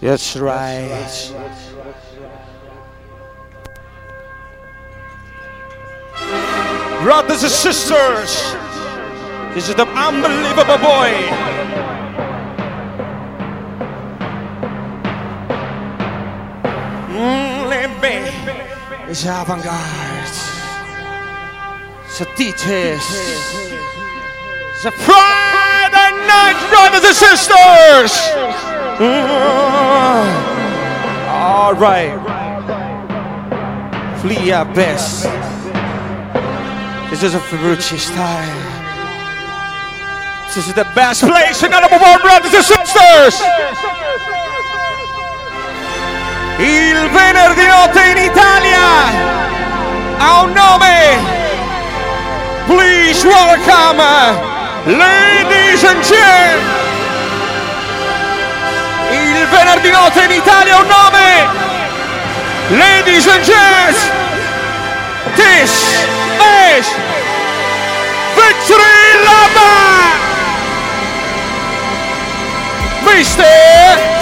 That's right. Brothers and sisters, this is the unbelievable boy. It's avant-garde. It's a details. It's a Friday night, brothers and sisters. All right. Flee our best. This is a Ferrucci style. This is the best place in number one, brothers and sisters. Il venerdì notte in Italia ha un nome. Please welcome, ladies and gentlemen. Il venerdì notte in Italia ha un nome. Ladies and gents, this is Victory Lava! Mister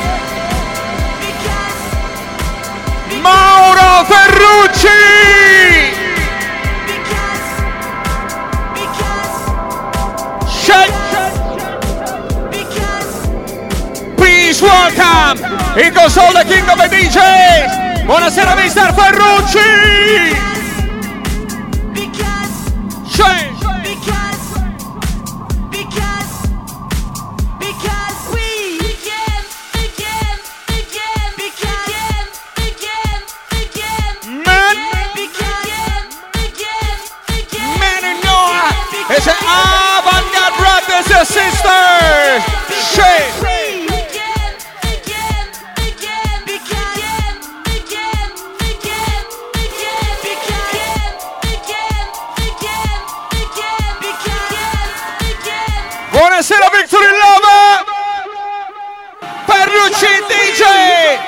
Mauro Ferrucci! Please welcome in console the king of the DJs. Buonasera Mr. Ferrucci. It's an avant-garde brothers and sisters. Shake. Buonasera Victory Lava. Ferrucci DJ.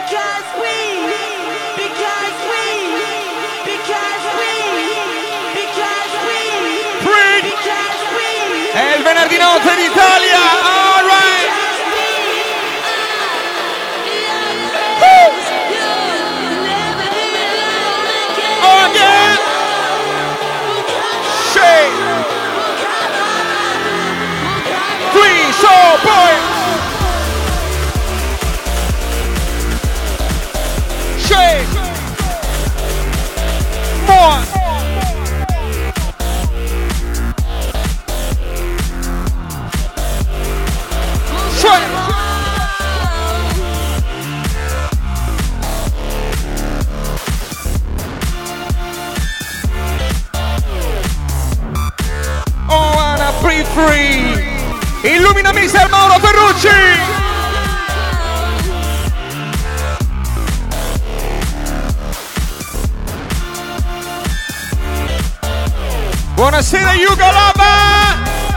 È il venerdì notte in Italia, all right. Oh yeah. Shake. Please, oh boy. Shake. More. Oh, wanna breathe free. Illumina Mr. Mauro Ferrucci. Buonasera Yuga Lava.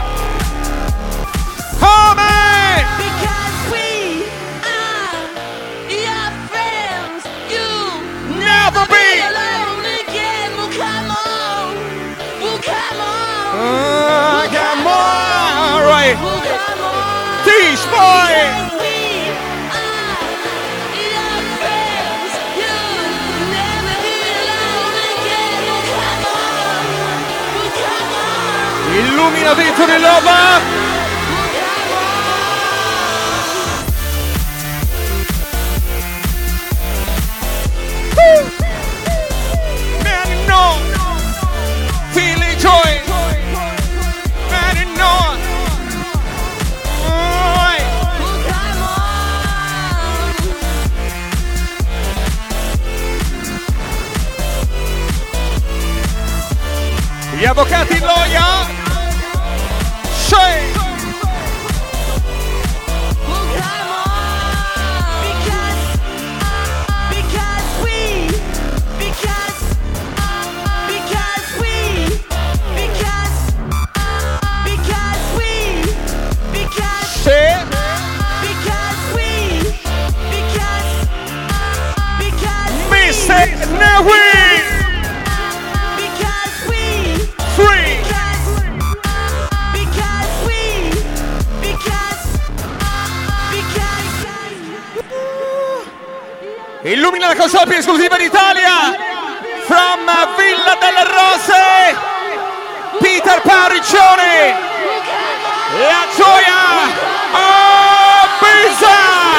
Come? Because we are your friends. You never be alone again. Well, come on. Well, come on. Come on. All right. Well, come on. Teach boy. We are your friends. You never be alone again. Well, come on. Well, come on. Illumina Victory Lava. Man, no. Feeling joy. Man, no. Gli avvocati in loia. Shake. Illumina la console più esclusiva d'Italia. From Villa delle Rose, Peter Parriccione. La gioia. Oh, Pisa.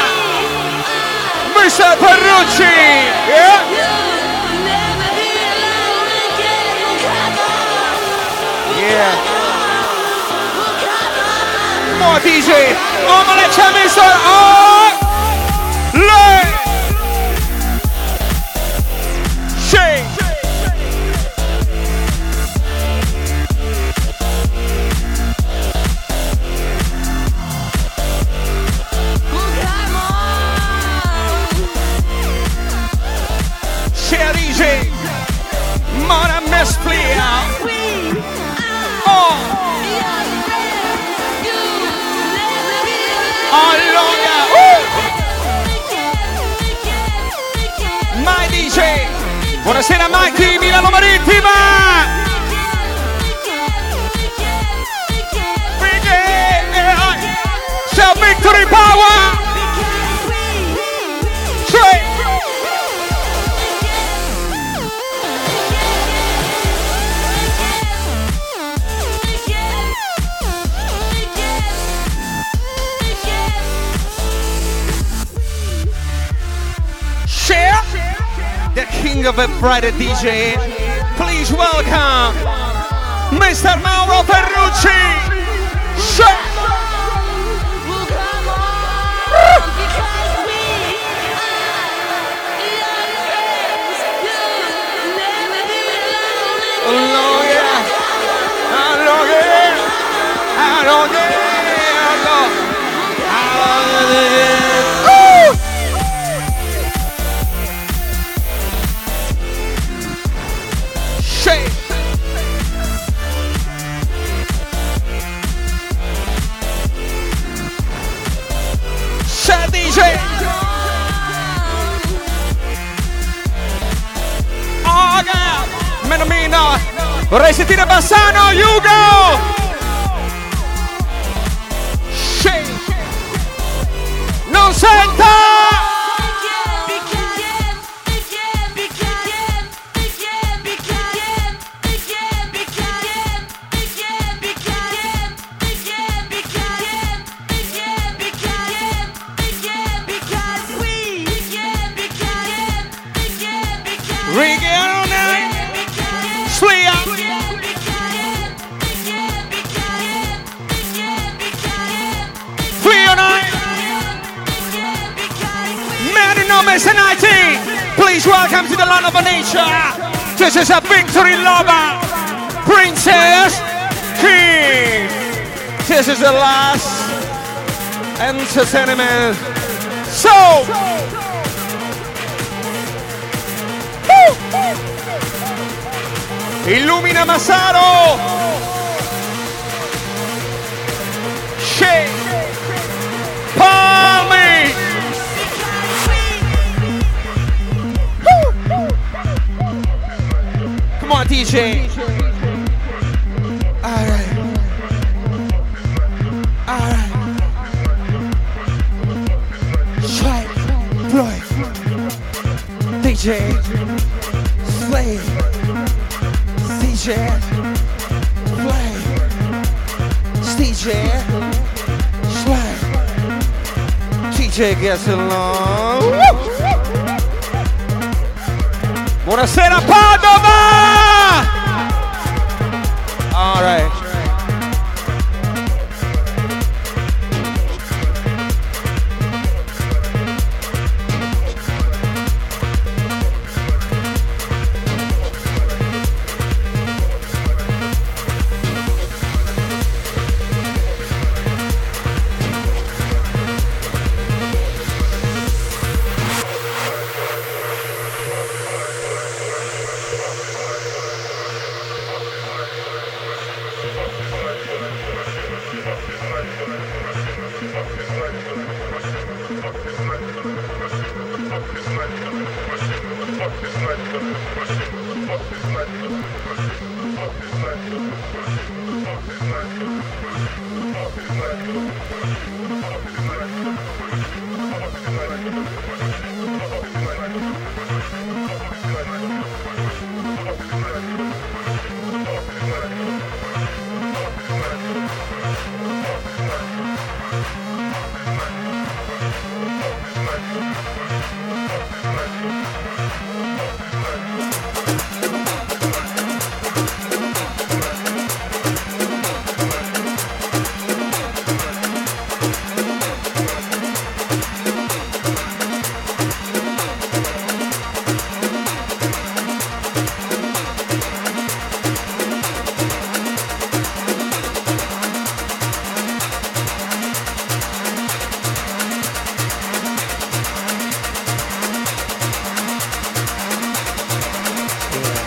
Mr. Ferrucci. Yeah. Yeah. More DJ. Oh, ma le c'è messo. Oh, lei. Shake. Share DJ. Mona Mesplia. Allora, My DJ. Buonasera Mikey, Milano Marittima. C'è Victory Power. The king of a Friday DJ, please welcome Mr. Mauro Ferrucci. Menomino, vorrei sentire Bassano, Hugo. Non senta. Please welcome to the land of nature. This is a victory lover, Princess King. This is the last entertainment. So, illumina Massaro. Shake. Palmy. Come on, DJ. All right. Strike, Floyd, DJ, Slave, DJ, Slave, DJ, Slave, DJ gets along. Woo! Buonasera Padova! All right.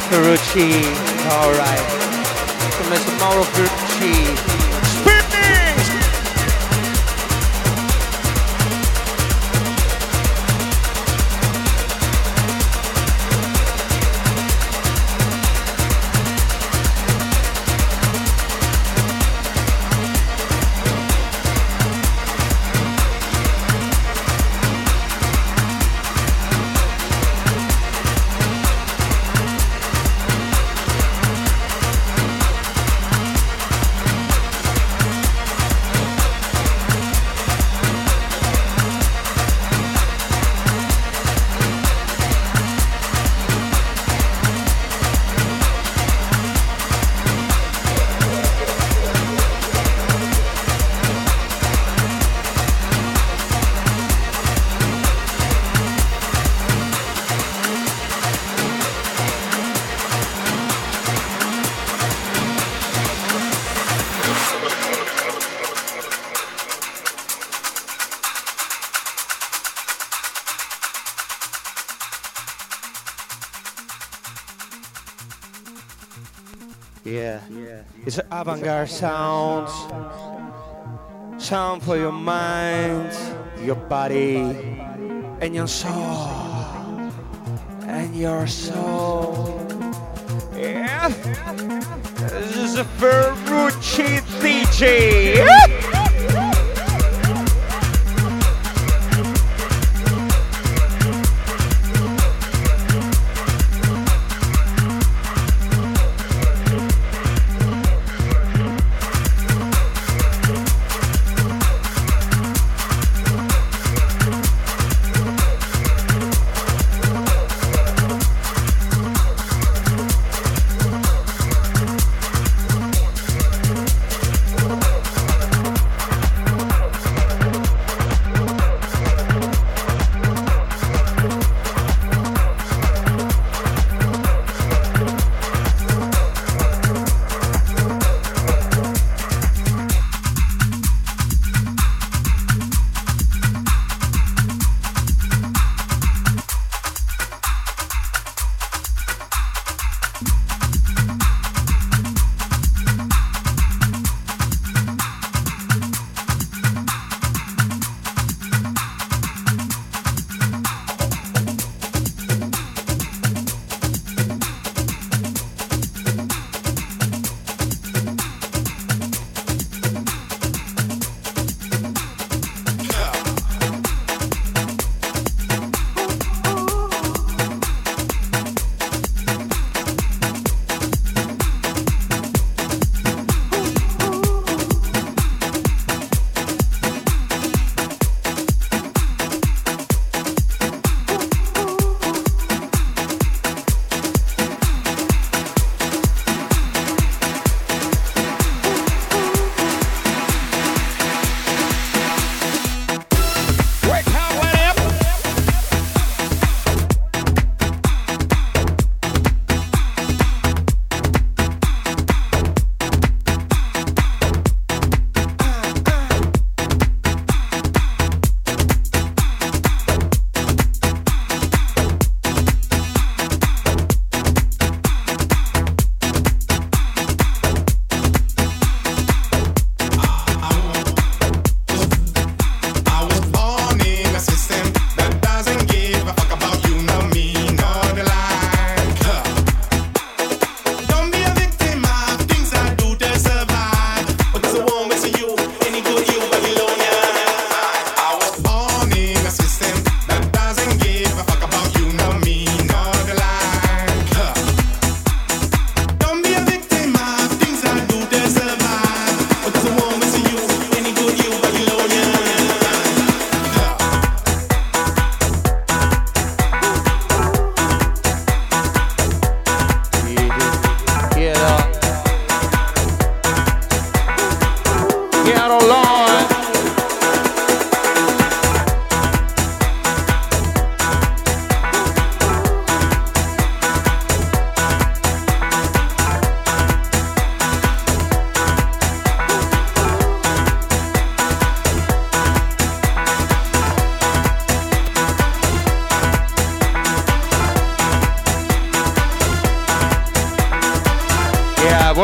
Ferrucci. Alright. To Mr. Mauro Ferrucci. Spinning! Yeah, it's avant-garde sounds. Sound for your mind, your body, and your soul. And your soul. Yeah, this is a Ferrucci DJ.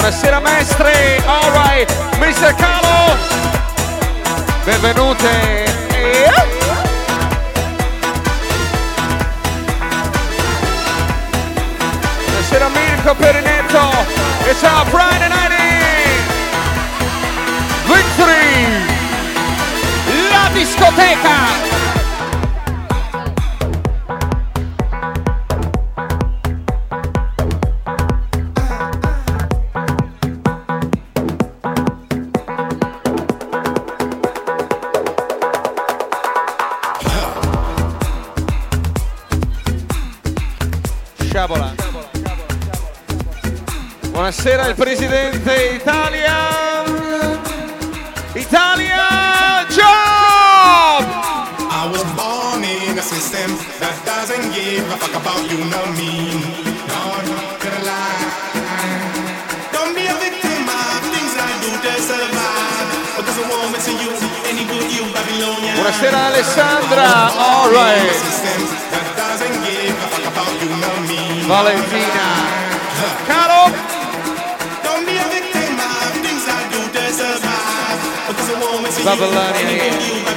Buonasera maestri, alright, Mr. Carlo, benvenute. Buonasera Mirko Perinetto, it's our Friday night Victory, la discoteca. Buonasera il presidente Italia Job! I was born in a system that doesn't give a fuck about you nor me. Not gonna lie. Don't be a victim of things I do to survive. Because I won't miss you, any good you Babylonian. Buonasera Alessandra, alright. That doesn't give a fuck about you nor me. Valentina, Caro. Babilonia.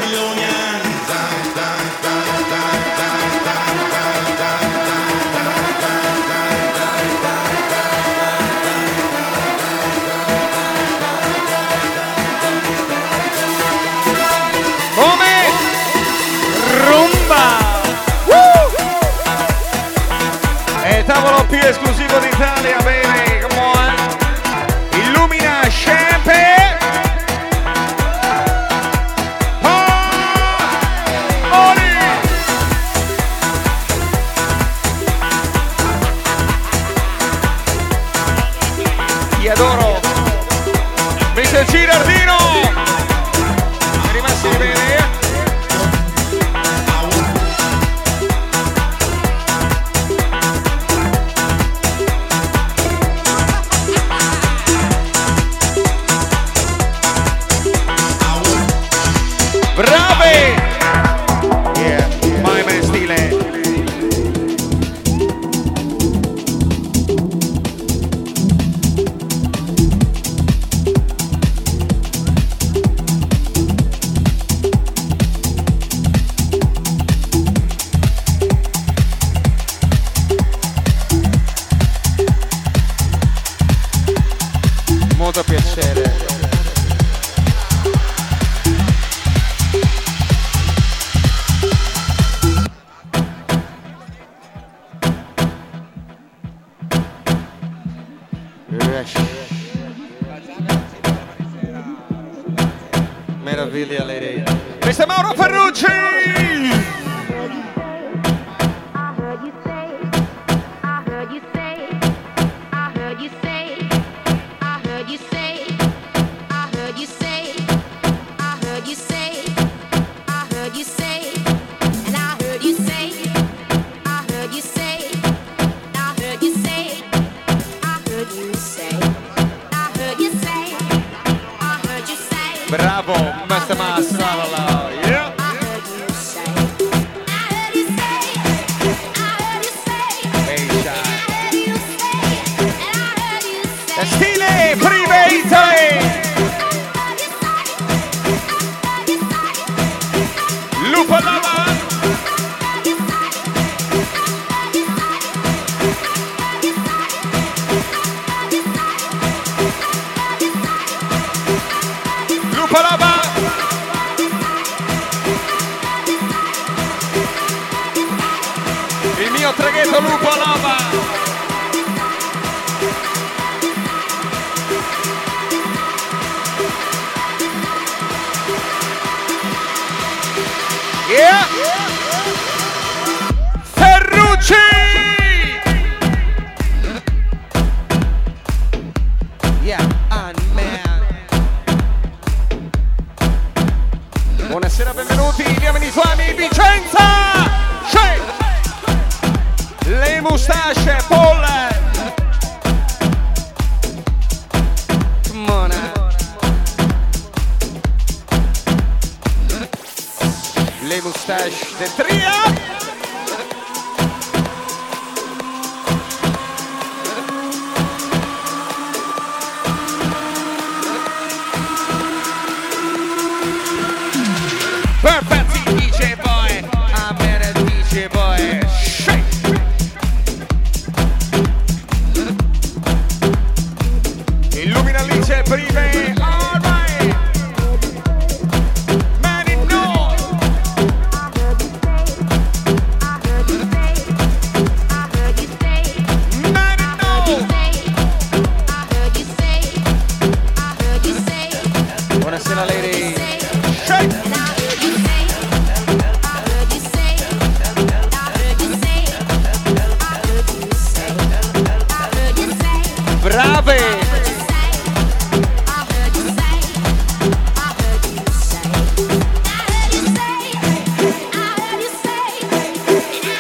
Come? Rumba! È tavolo più esclusivo d'Italia, baby, come on! Illumina Champagne! Adoro Mr. Girardino è rimasti bene. Brave, yeah, mai me stile. Molto piacere. Meraviglia lei. Mr. Mauro Ferrucci. Bravo, Master Masala, yeah. Stile Prime Italy. Lupo Lava. Lupo Lava. Il mio traghetto Lupo Lava. Yeah. Ferrucci. Yeah, man. Buonasera, benvenuti, diamine suoni, Vicenza. Le mustasce, Paul. Come on. Le moustache del trio.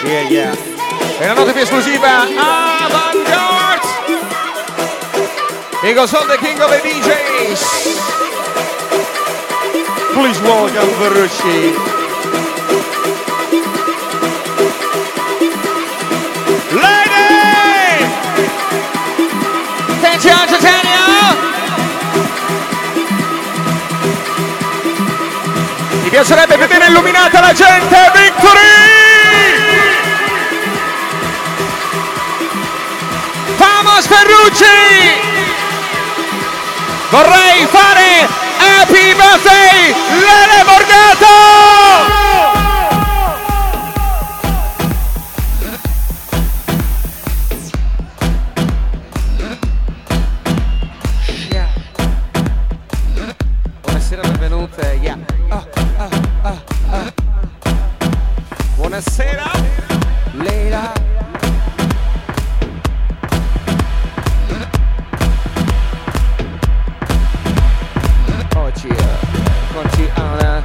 Yeah. E la nota più esclusiva, Avantgarde. He goes on the king of the DJs. Please welcome Ferrucci. Lady! Attenzione, Titania! Mi piacerebbe vedere illuminata la gente, Victory! Vamos Ferrucci! Vorrei fare Happy Birthday Lele Borgato! Buonasera, benvenute. Yeah. Buonasera, Leila. Oggi conti Anna.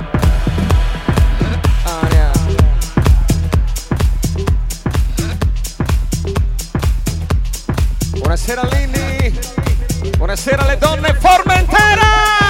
Buonasera Lilli. Buonasera le donne Formentera.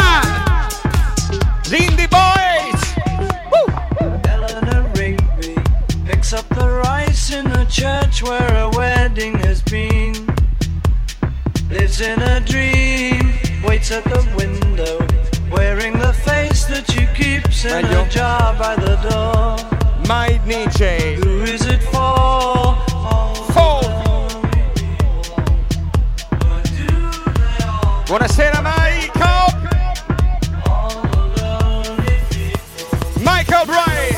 Lindy Boys. Eleanor Rigby picks up the rice in a church where a wedding has been. Lives in a dream, waits at the window, wearing the face that she keeps in a jar by the door. My DJ. Who is it for? Buonasera Michael. Michael Bright.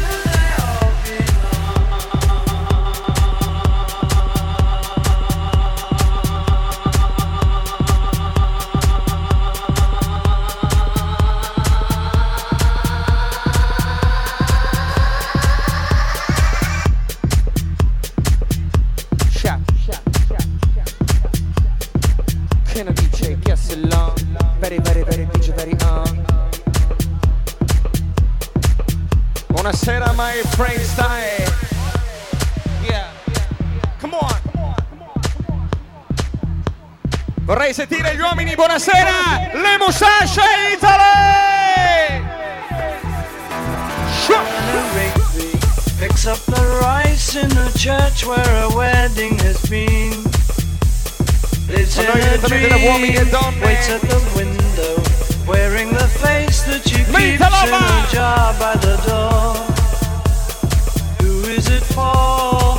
Can I DJ guess along? Very DJ, very on. Buonasera my friend style. Yeah. Come on. Vorrei sentire gli uomini, buonasera. Le Musashi Italy. Picks up the rice in a church where a wedding has been. Lives in a dream, waits at the window, wearing the face that she keeps in a jar by the door. Who is it for?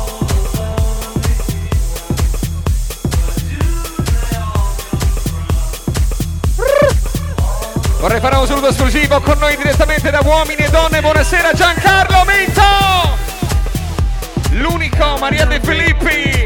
Vorrei fare un saluto esclusivo con noi direttamente da Uomini e Donne. Buonasera Giancarlo Minto. L'unico Maria De Filippi.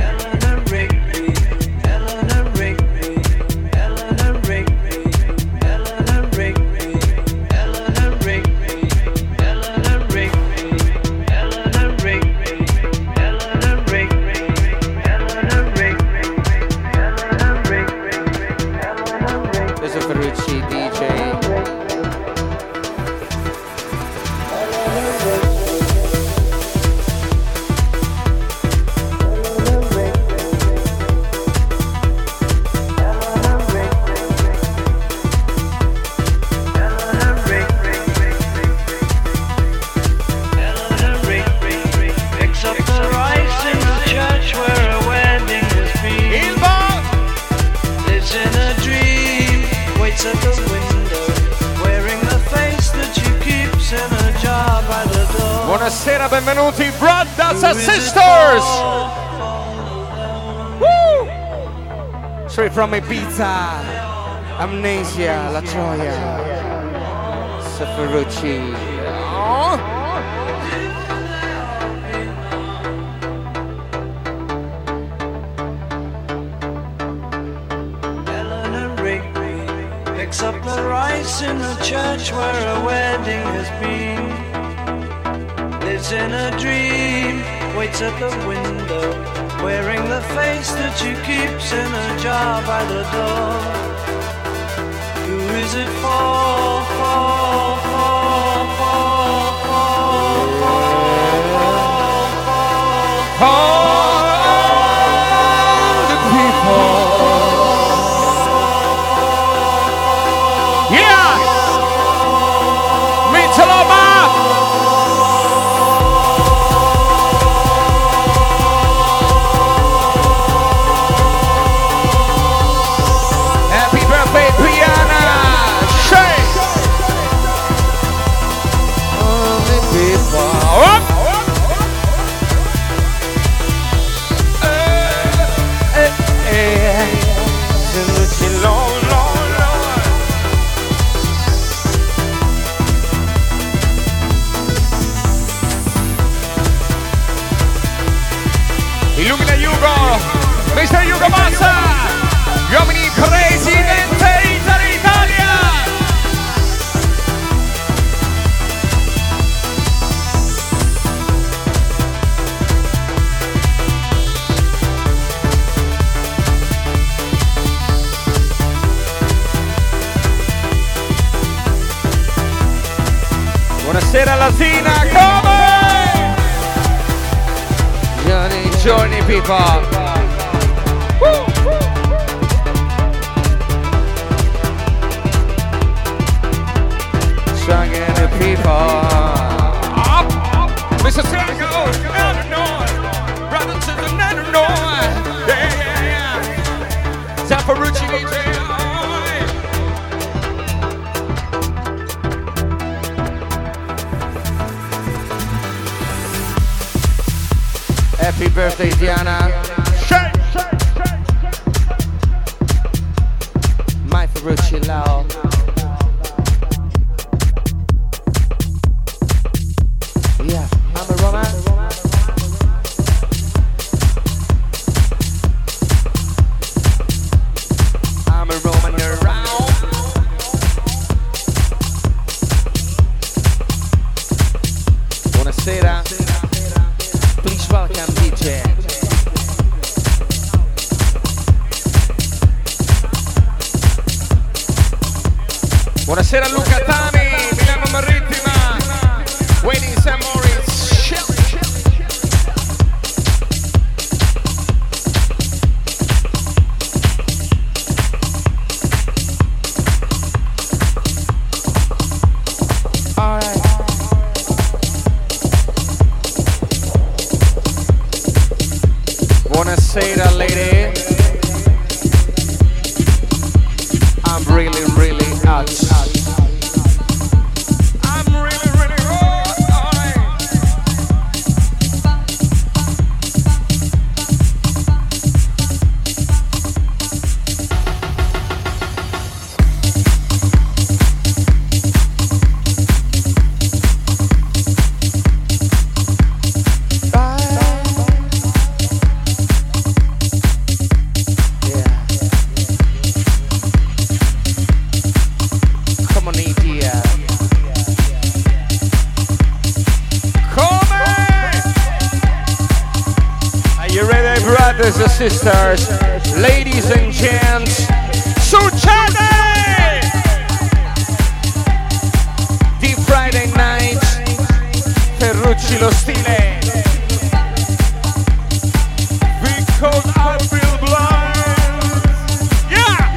Buonasera, benvenuti Brothers and Sisters. Woo! Straight from Ibiza, Amnesia, La Gioia, Ferrucci. Oh. Eleanor Rigby picks up the rice in a church where a wedding has been. Lives in a dream, waits at the window, wearing the face that she keeps in a jar by the door. Who is it for? All the people. Yeah! Mitcheloma! Happy birthday, Piana! Shake! All the people. Up! Illumina Hugo, Mr. Hugo Massa, gli uomini Presidente Italia. Buonasera Latina, come? Journey people. Singing the people. Up, Mr. Sango, Illinois. Brother to the Illinois. Yeah. Zaparucci DJ. Happy birthday, Diana. Shake, shake, shake, shake. My Ferrucci Lao. Yeah, I'm a Roman. I'm a Roman around. Buonasera. Please welcome DJ. Buonasera Luca Tami, Milano Marittima, Waiting St. Moritz. Buonasera lady. I'm really hot. I'm really hot. Brothers and sisters, ladies and gents, succede! Deep Friday night, Ferrucci lo stile. Because I feel blind. Yeah!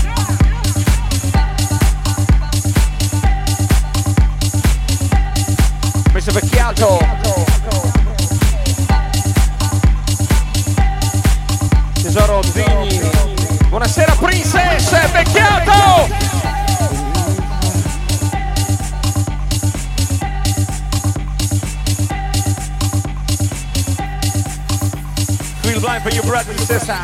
Mr. Vecchiato. Tesoro Digni. Buonasera Princess Vecchiato. Feel blind for your brother and sister.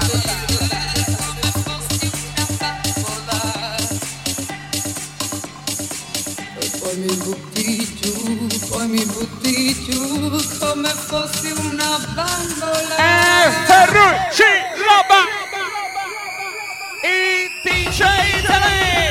Poi mi butti giù come fossi una bambola. Ferrucci roba. Il DJ Italy.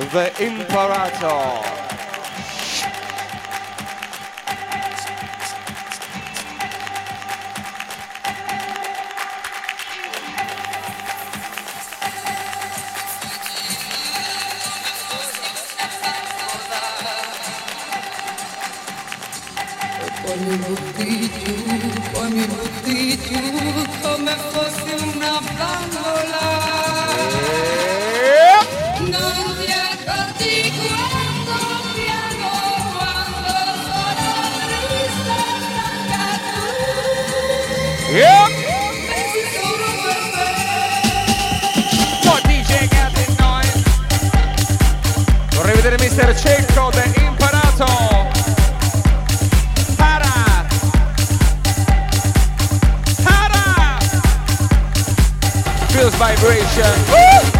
The Imperator. Poi mi butti giù come fossi una bambola. Non ti accorgi quando piango, quando sono triste stanca tu. Pensi solo per me. Poi DJ Gatti Noise. Vorrei vedere Mr. Cecco The Imperator. Feels vibration. Woo!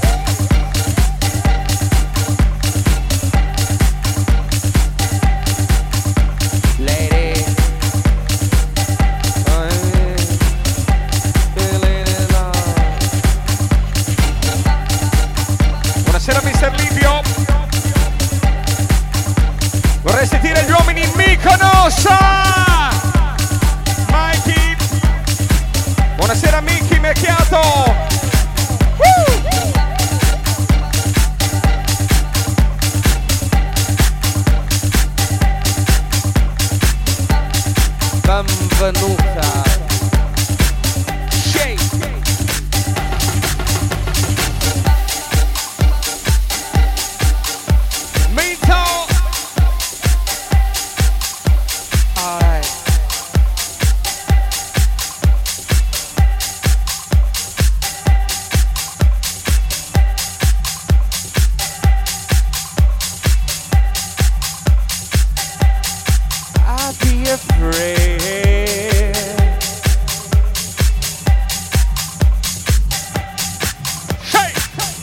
Lady, buonasera Mr. Livio. Vorrei sentire gli uomini in Mykonos. Mikey. Buonasera Mickey Mecchiato. Benvenuta. Shake. Mito. All right. I'll be afraid. Hey!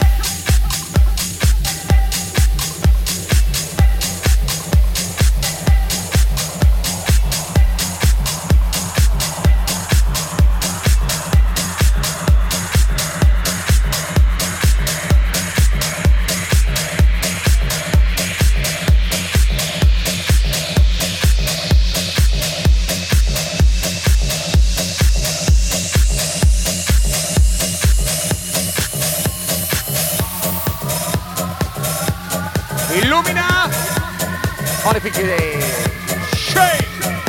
Illumina. Shake.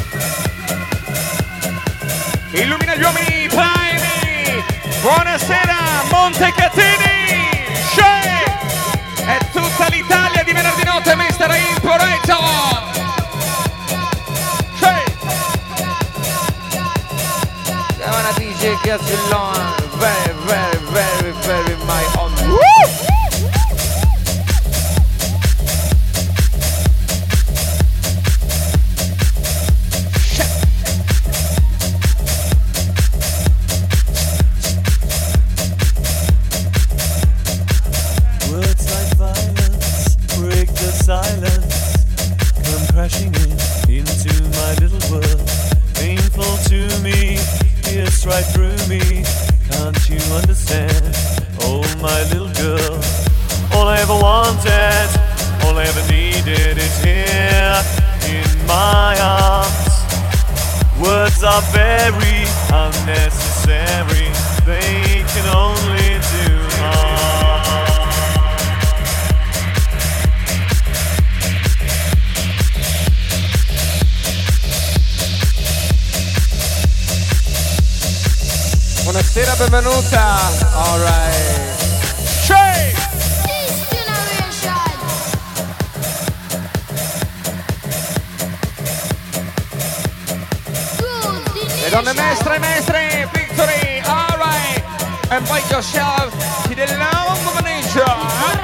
Illumina gli uomini primi. Buonasera Montecatini. Shake. È tutta l'Italia di venerdì notte, Mr. Imperator. Shake. Siamo una DJ Gazzellon. Very, very, very, very my own. Woo! Silence, come crashing into my little world. Painful to me, pierce right through me. Can't you understand? Oh, my little girl. All I ever wanted, all I ever needed is here in my arms. Words are very unnecessary. They can only do harm. Buonasera, benvenuta. All right. Shake. Le donne mestre, mestre, victory. All right. Invite yourself to the long manager.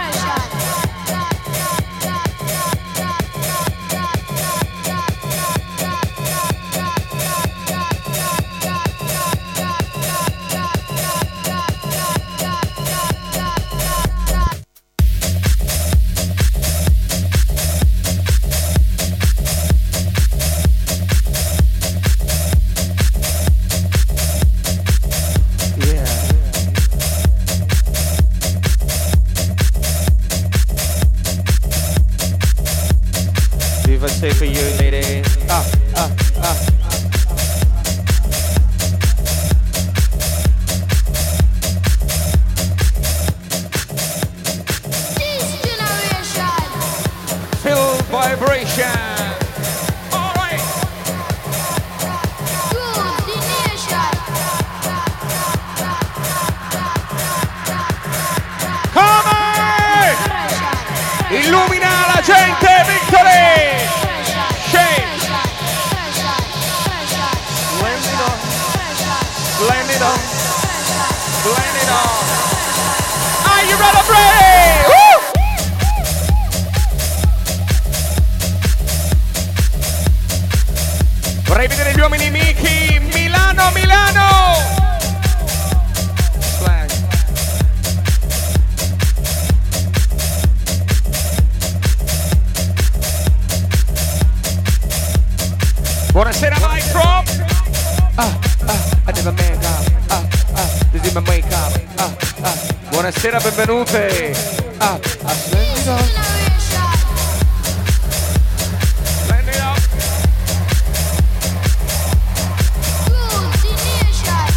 say for you, lady. This generation. Feel vibration. All right. Good the nation. Come on! Illumina la gente, Victory! Shake! Blend it on. Blend it on. Are you ready? Woo! Vorrei vedere gli uomini Miki. Milano, Milano! Slash. Buonasera Micro. I never make up. This is my make up. Buonasera, benvenute. Splendido. Splendido. Good the nation.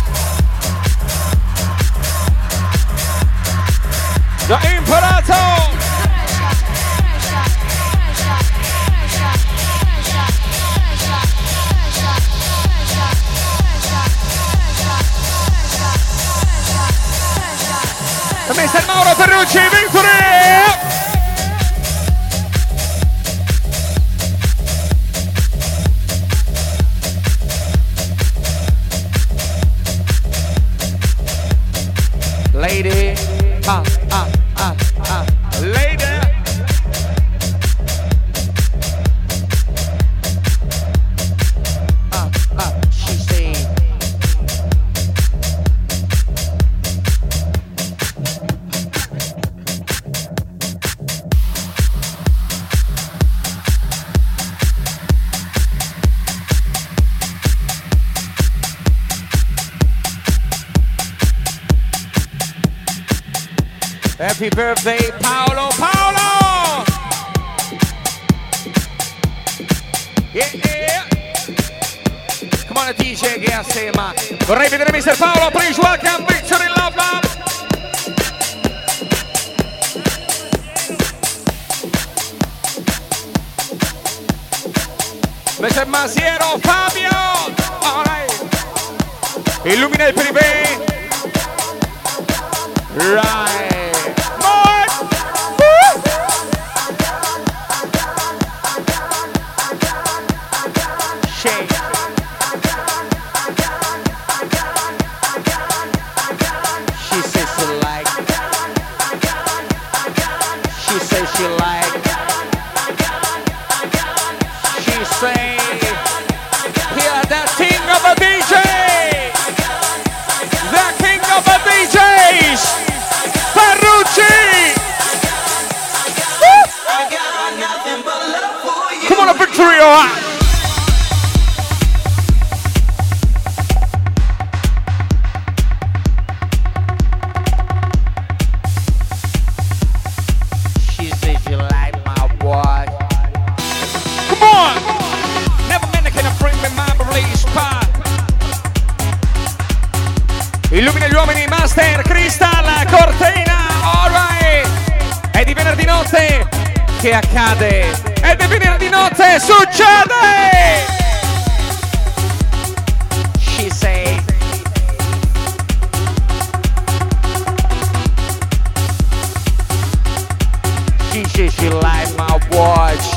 Da imparato. Da Mr. Mauro Ferrucci, Victory! Lady, lady. She said. Happy birthday, Paolo, Paolo! Yeah. Come on, DJ, che assieme. Vorrei vedere Mr. Paolo, please welcome Victory Love Love. Mr. Masiero, Fabio! All right. Illumina il privé. Right. Shake. She says she like. She says she like. She say, hear the king of a DJ. The king of a DJs. Ferrucci. Come on, a Victory, all right. Illumina gli uomini, Master, Crystal, Cortina, alright! È di venerdì notte che accade! È di venerdì notte, succede! She say. She says she like my watch.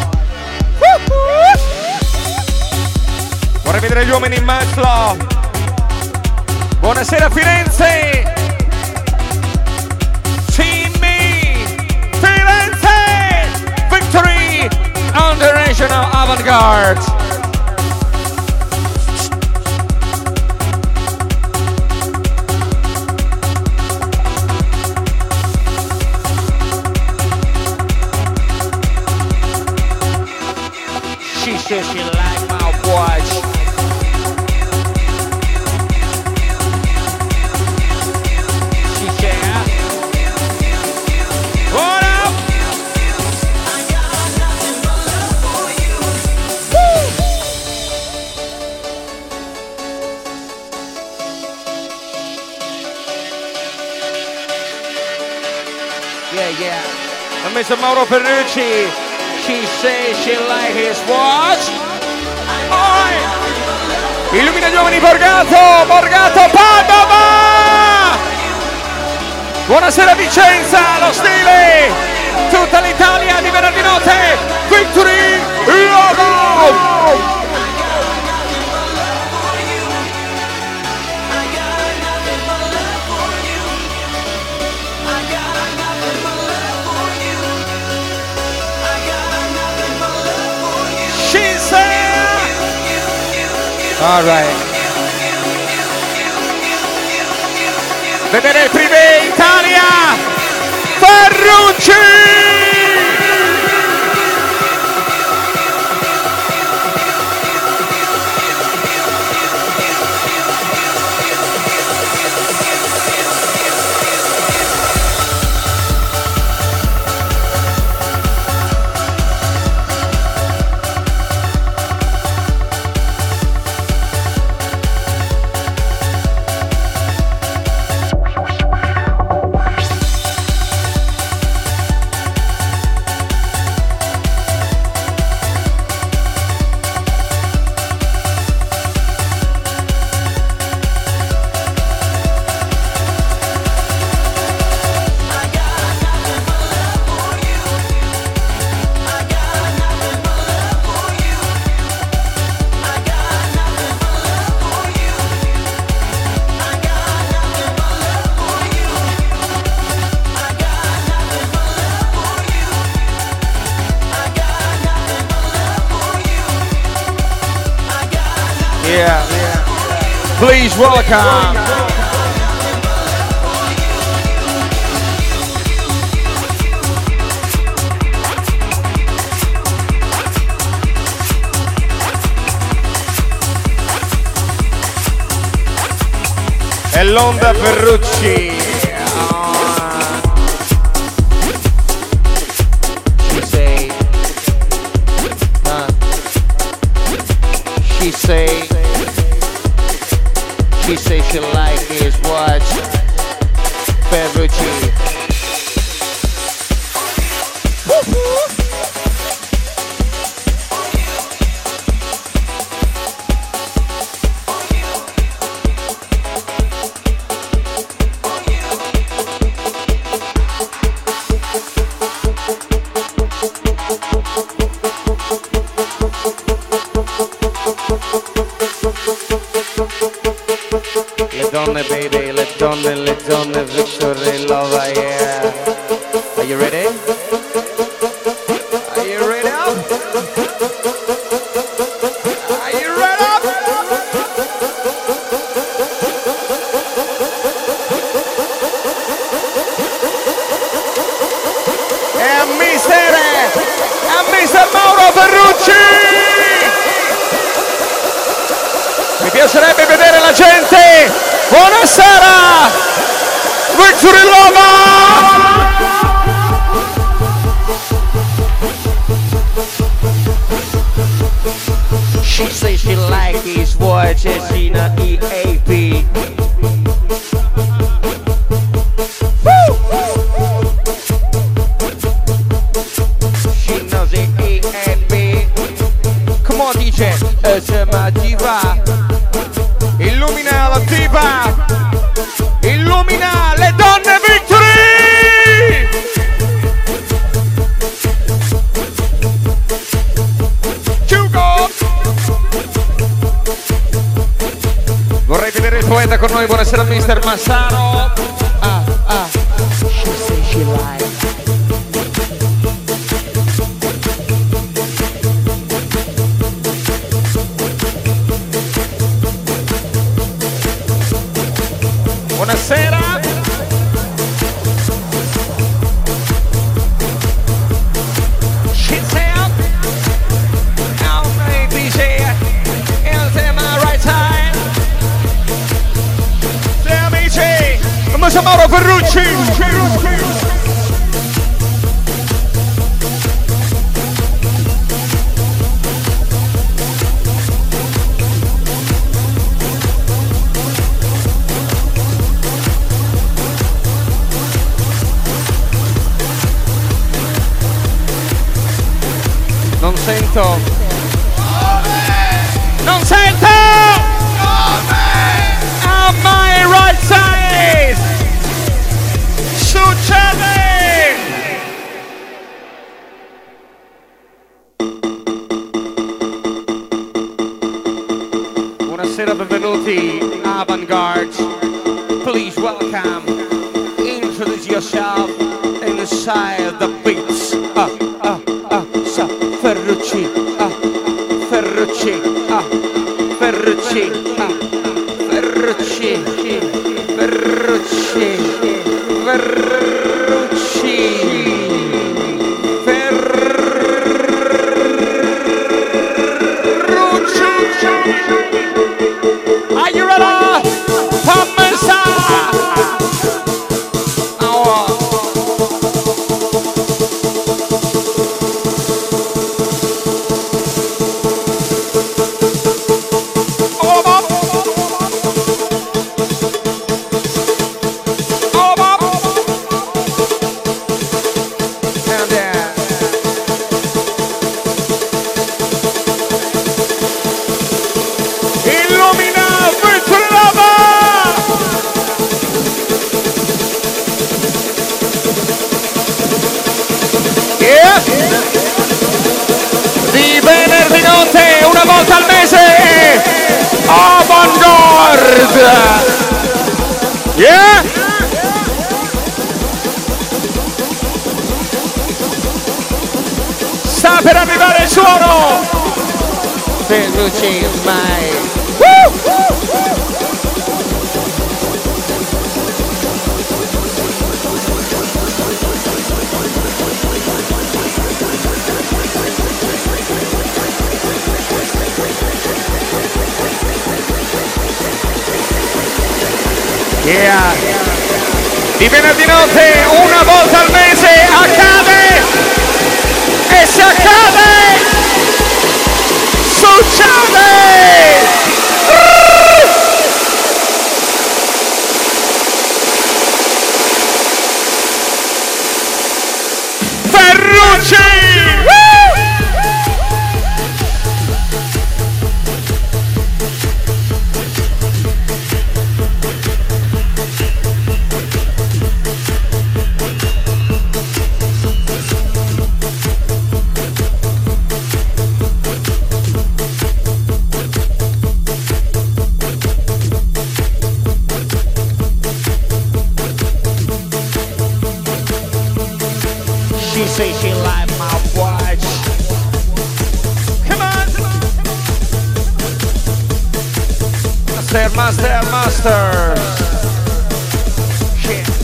Vorrei vedere gli uomini in Maslow. Buonasera Firenze! Timmy! Firenze! Victory on the National Avant-Garde! She says she like my watch. Mr. Mauro Ferrucci. She says she like his watch. Illumina gli uomini Borgato Padova. Buonasera Vicenza, lo stile, tutta l'Italia di venerdì notte, Victory Logo. All right. Vedere il Privé Italia, Ferrucci. Please welcome e l'onda Ferrucci. She say she like his watch, Ferrucci. Baby, le donne, Victory Lova, yeah. Are you ready? Are you ready up? Are you ready up? E Mr. Mauro Ferrucci! Mi piacerebbe vedere la gente! Buonasera! Victory Lova! She says she like his watch and she not EAP. She knows the EAP. Come on DJ, it's my diva. Illumina la diva, illumina le donne Victory! Chiugo! Vorrei vedere il poeta con noi, buonasera Mister Massaro. She say she like. Buonasera. She's out. Now maybe she is in my right time. Se amici, vamos a Non sento. Non sento! On my right side! Succede! Buonasera, benvenuti Avantgarde. Please welcome. Introduce yourself inside the beats. Ferrucci, Ferrucci, Ferrucci, Ferrucci, Ferrucci, Ferrucci, Ferrucci. Are you ready? Commissa! Di venerdì notte, una volta al mese, Avantgarde! Yeah! Sta per arrivare il suono! Ferrucci mai! Yeah. Di venerdì notte, una volta al mese, accade! E se accade, succede! Ferrucci! She say she like my watch. Come on! Master. Shit.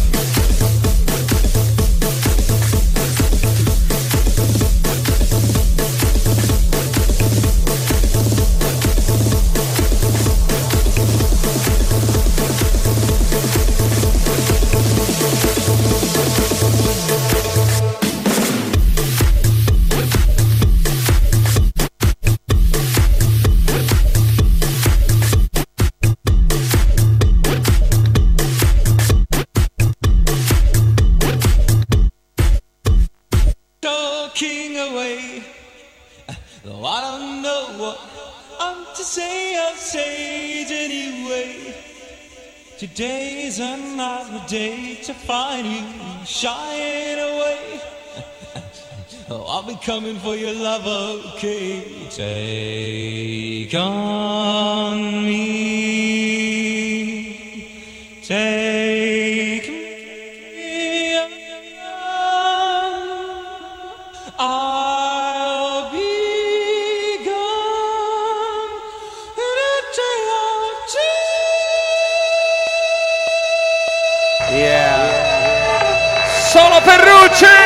Talking away, though I don't know what I'm to say, I'll say it anyway. Today's another day to find you shying away. Oh, I'll be coming for your love, okay? Take on me, take me on. I'll be gone in a day or two. Yeah. Solo Ferrucci!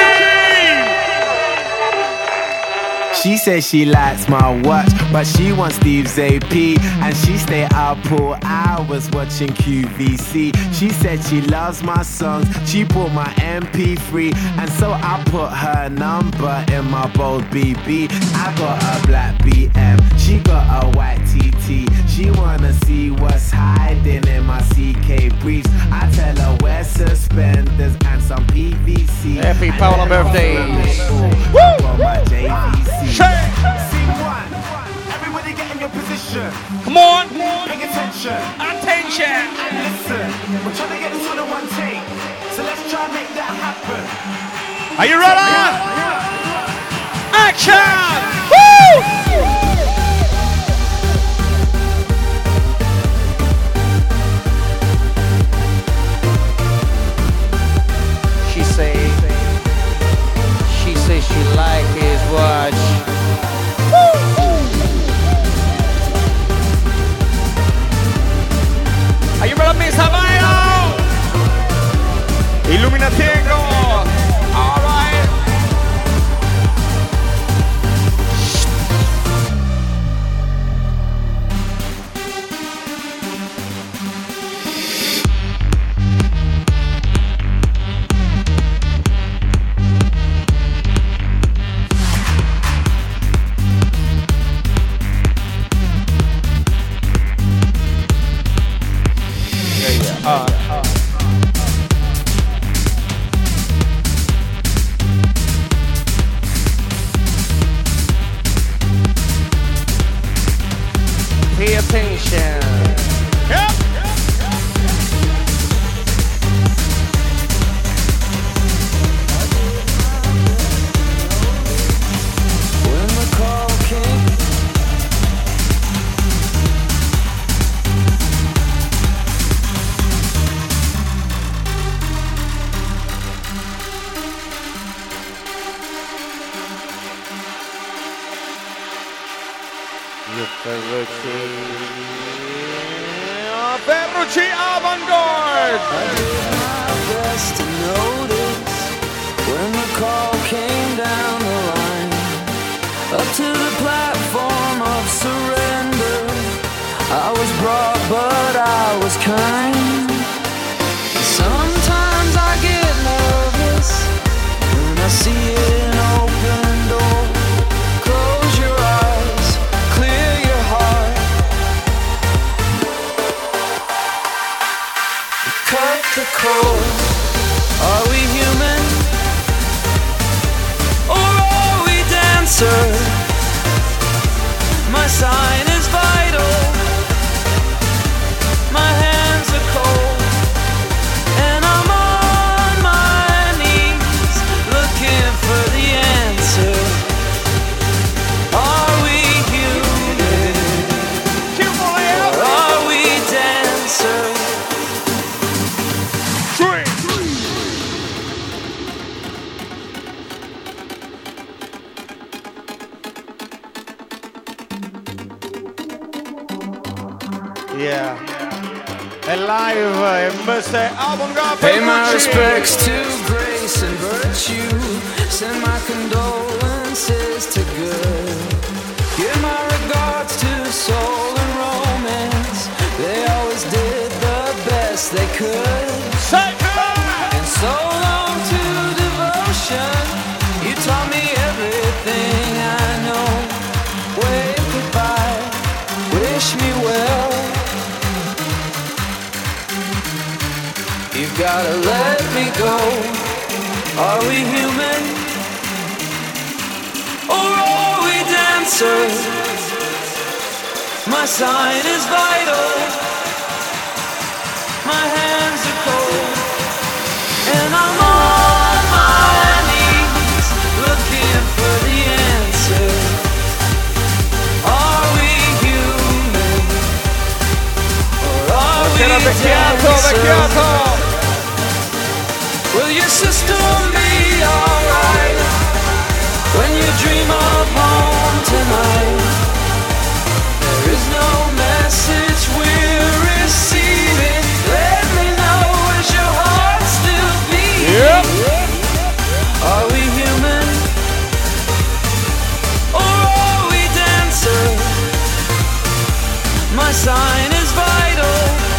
She says she likes my watch, but she wants Steve's AP. And she stay up all hours watching QVC. She said she loves my songs, she bought my MP3. And so I put her number in my bold BB. I got a black BM, she got a white TT. She wanna see what's hiding in my CK briefs. I tell her wear suspenders and some PVC. Happy Paola birthday! My JVC. Attention! And listen, we're trying to get this on a one take, so let's try and make that happen. Are you ready? Action! Woo! She like his watch. Are you ready, Miss Havayo? Illuminatiego. All right. Pay attention. Yep. When the call came, Ferrucci Avant-Garde. I did my best to notice when the call came down the line, up to the platform of surrender. I was brought, but I was kind. Sometimes I get nervous when I see an open door. Close your eyes, clear your heart. Cut the cord. Are we human? Or are we dancer? My sign is vital. My hands are cold. And I'm on my knees looking for the answer. Are we human? Or are we dancer? Yeah. E live Mr. Avant-Garde. Pay my respects to grace and virtue. Send my condolences to good. Give my regards to soul and romance. They always did the best they could. And so long to devotion. You taught me everything I know. Wave goodbye, wish me well. You've gotta let me go. Are we human? Or are we dancers? My sign is vital. My hands are cold. And I'm on my knees looking for the answer. Are we human? Or are we dancers? Will your system be alright when you dream of home tonight? There is no message we're receiving. Let me know, is your heart still beating? Yep. Are we human? Or are we dancers? My sign is vital.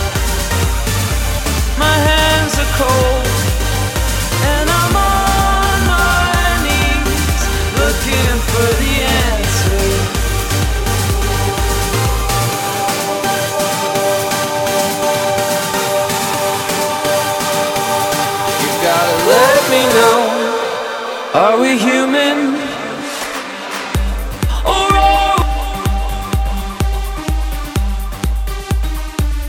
My hands are cold. And I'm on my knees looking for the answer. You gotta let me know. Are we human? Or are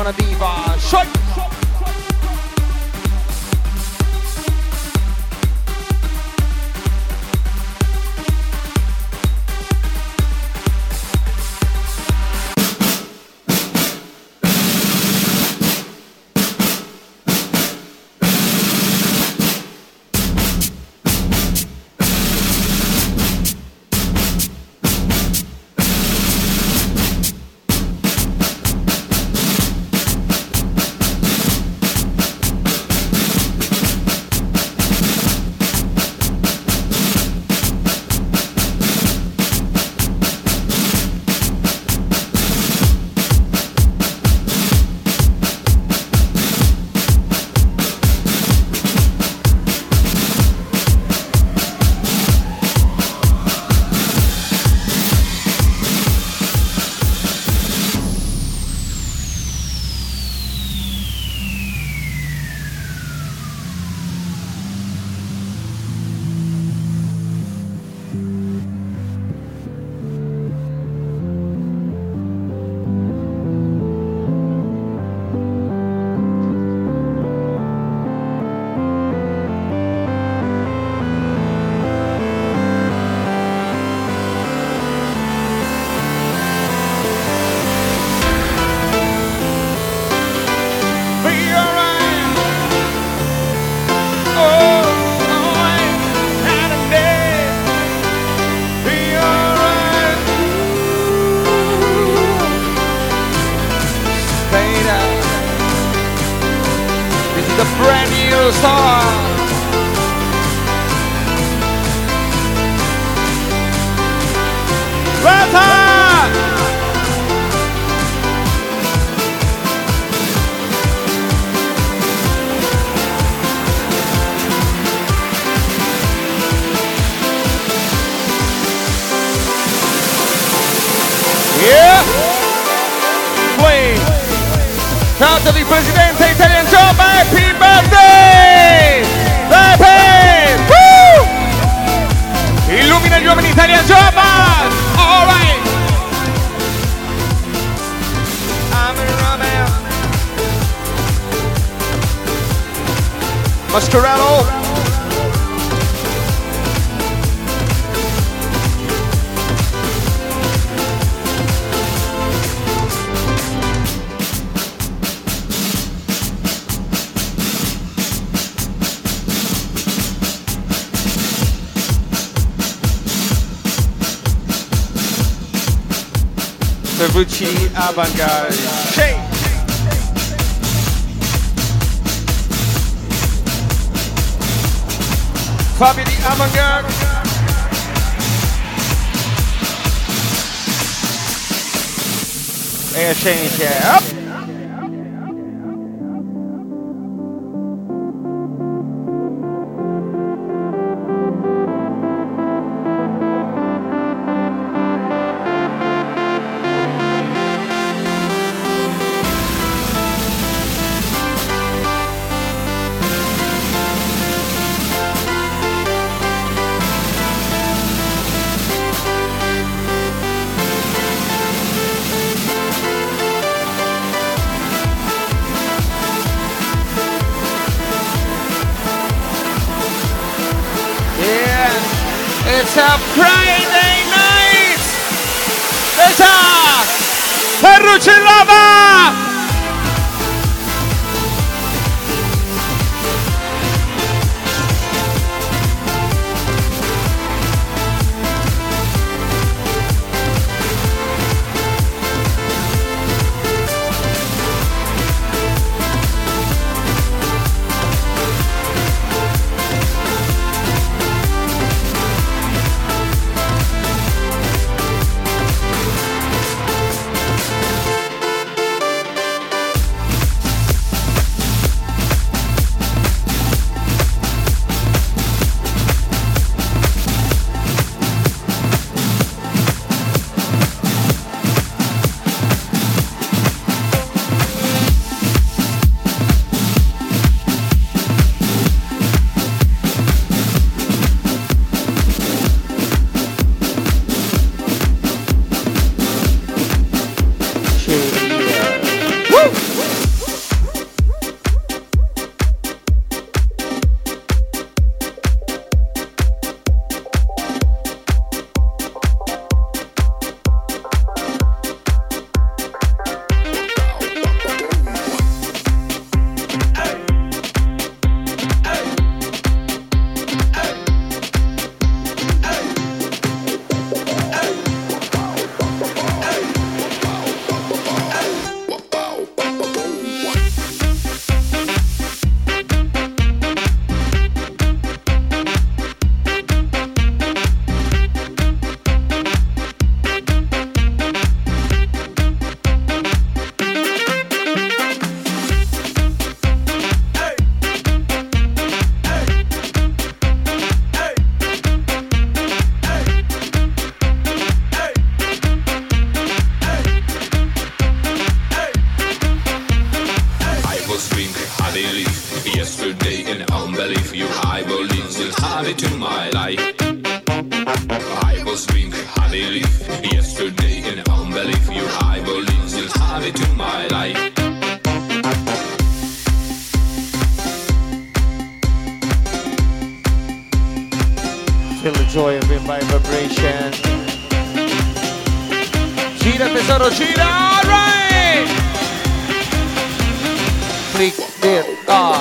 buona diva. Shoi! Canto di presidente Italian Job, happy birthday! Pepe! Woo! Illumina gli uomini Italian Job! All right! Mascherello! Ferrucci Avant-Garde. Shake! Fabio di Avant-Garde. E sceniche. Up! It's a Friday night! Esatto! Ferrucci Lava! joy to my life. Feel the joy of it by vibration. Gira tesoro, gira, alright! Flick it off.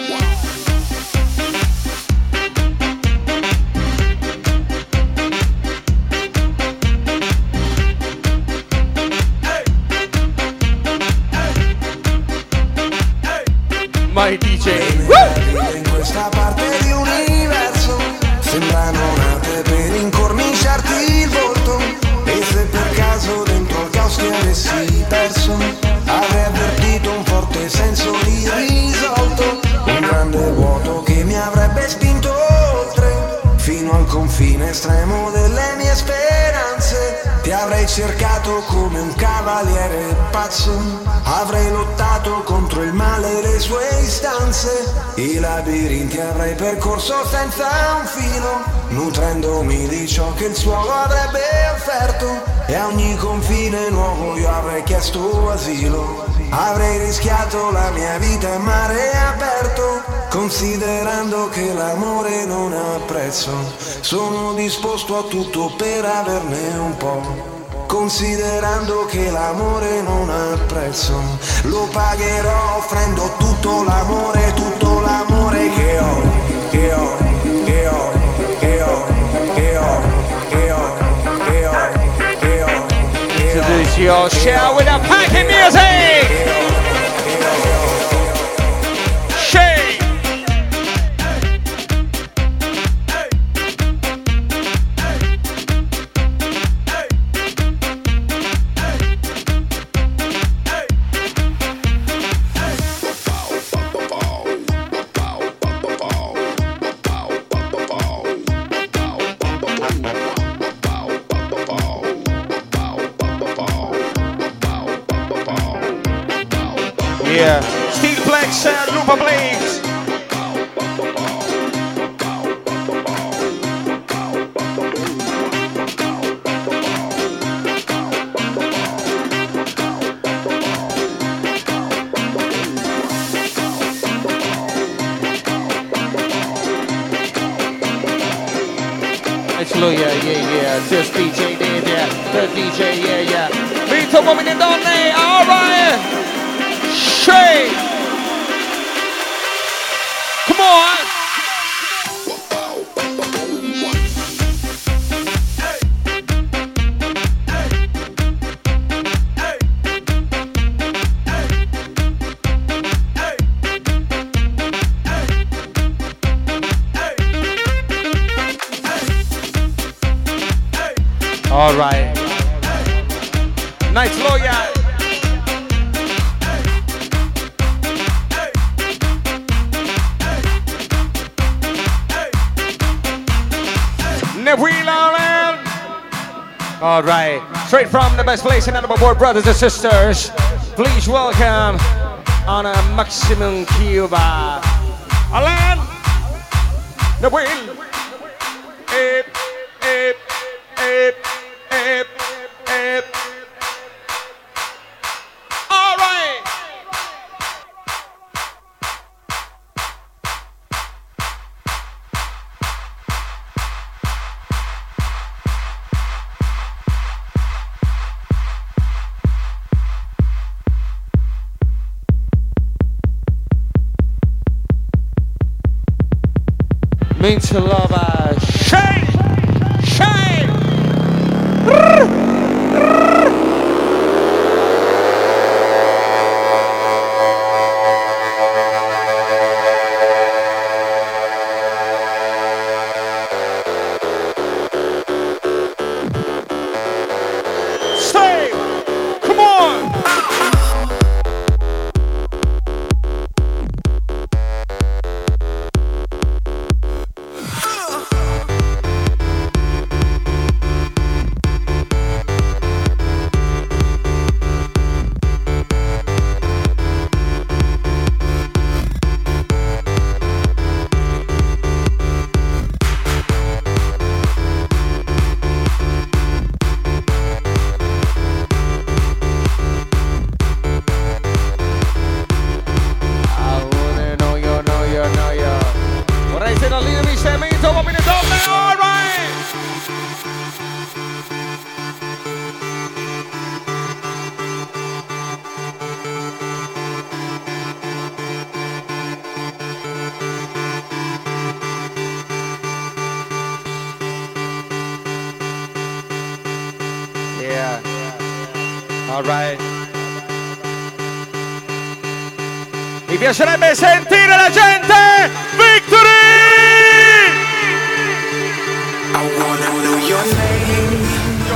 My DJ. In questa parte di universo sembrano nate per incorniciarti il volto. E se per caso dentro al caos ti avessi perso, avrei avvertito un forte senso di risolto, un grande vuoto che mi avrebbe spinto oltre, fino al confine estremo delle mie speranze. Ti avrei cercato come un cavaliere pazzo, avrei lottato contro il male e le sue istanze, i labirinti avrei percorso senza un filo, nutrendomi di ciò che il suolo avrebbe offerto, e a ogni confine nuovo io avrei chiesto asilo. Avrei rischiato la mia vita a mare aperto, considerando che l'amore non ha prezzo. Sono disposto a tutto per averne un po', considerando che l'amore non ha prezzo. Lo pagherò offrendo tutto l'amore che ho, che ho, che ho, che ho, che ho, che ho, che ho, che ho. Introduce your show with a packing music! Shake! Yeah, Steelplex and Lupa Blades. Actually, yeah, this DJ did, yeah, the DJ, yeah. Vito, uomini e donne, alright! Shake! Come on! All right. Nice lawyer. All right, straight from the best place in Anamabor, brothers and sisters. Please welcome on a Maximum Cuba, Alan, the wheel. All right. Means to love, shake, shake. Stay, come on. Alright. Mi piacerebbe sentire la gente. Victory! I wanna know your name.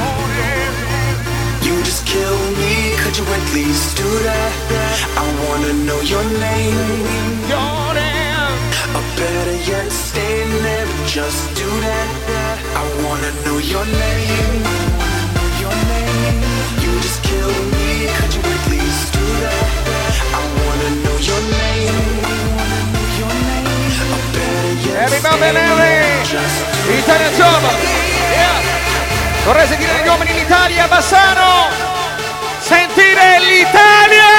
You just kill me, could you at least do that? I wanna know your name. Or better yet, stay there, just do that. I wanna know your name. Your name. You just kill me, could you at least do that? I wanna know your name. Your name. Or better yet, Everybody Nelly! Italia Job! Yeah! Vorrei sentire gli uomini in Italia, Bassano! Sentire l'Italia!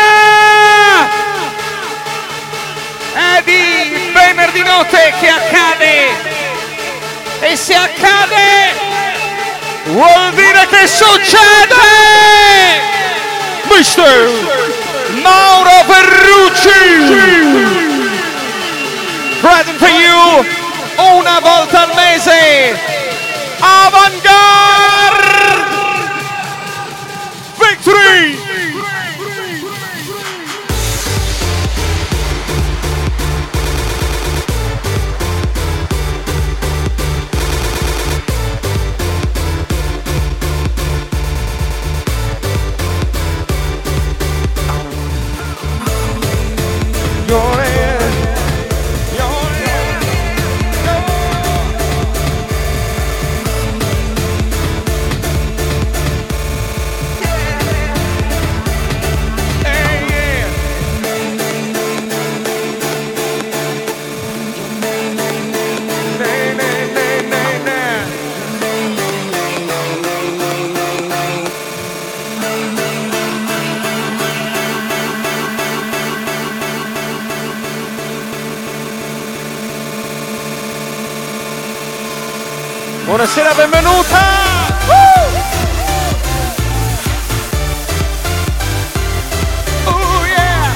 È di venerdì notte che accade! E se accade vuol dire che succede! Mister Mauro Ferrucci! Present for you una volta al mese, Avantgarde Victory! Buonasera, benvenuta! Oh yeah!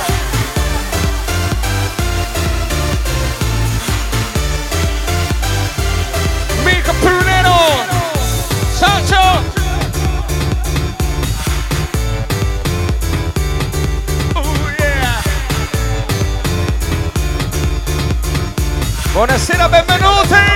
Mirko Prunero! Sancho! Oh yeah! Buonasera, benvenuti!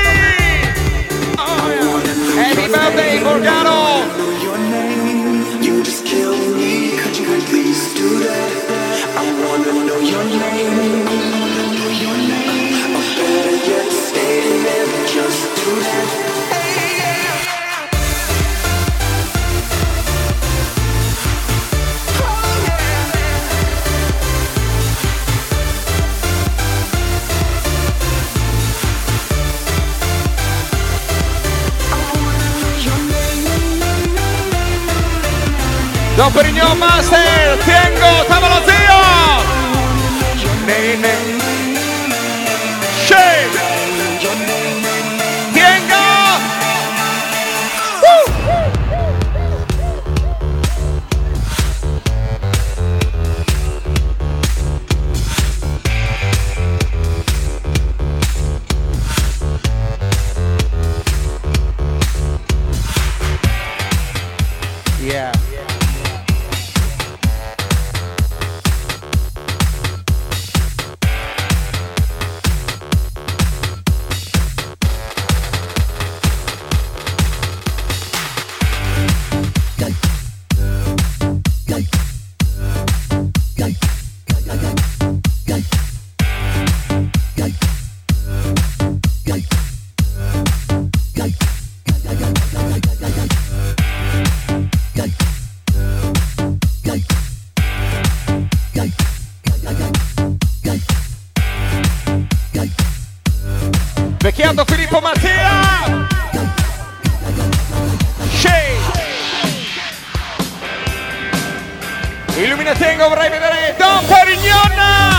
Happy birthday, Morgano! your name. You just kill me, could you at least do that? I wanna know your name. Your name. Or better yet, stay there, just do that. Don Perignon Master, Tiengo, tavolo zio! Nene. Shake! Tiengo! Yeah. Vecchiando Filippo Mattia! Shake! Illuminatengo, vorrei vedere Don Perignon!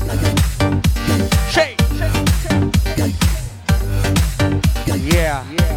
Yeah.